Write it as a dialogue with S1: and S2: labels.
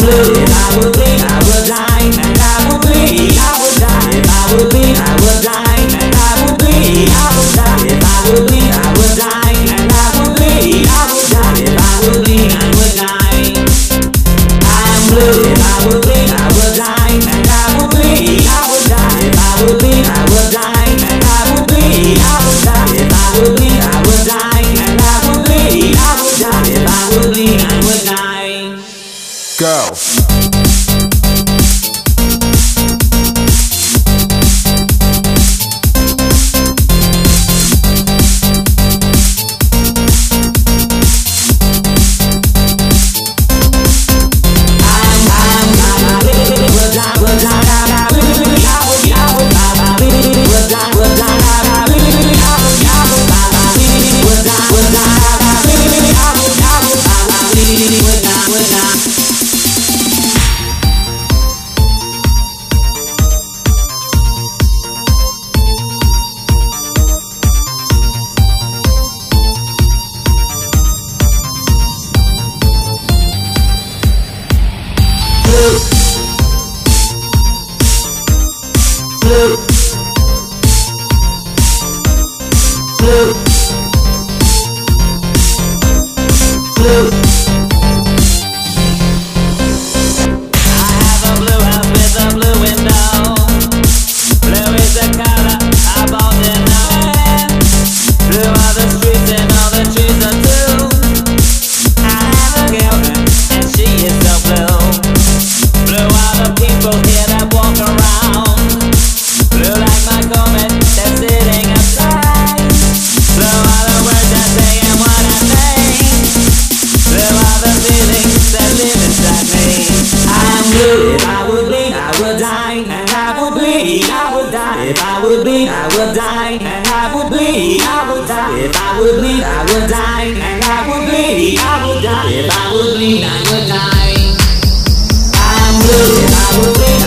S1: blue. If I would bleed, I would die, and I would bleed, I would die. If I would bleed, I would die, and I would bleed, I would die. If I would bleed, I would die, and I would bleed, I would die. If I would bleed, I would die. I'm blue. If I would bleed, I would die, and I would bleed, I would die. If I would bleed, I would die, and I would bleed, I would die. If I would bleed, I would die, and I would bleed, I would die. If I would bleed, I would die.
S2: Go.
S1: If I would bleed, I would die, and I would bleed, I would die. If I would bleed, I would die, and I would bleed, I would die. If I would bleed, I would die, and I would bleed, I would die. If I would bleed, I would die. I'm blue. If I would bleed,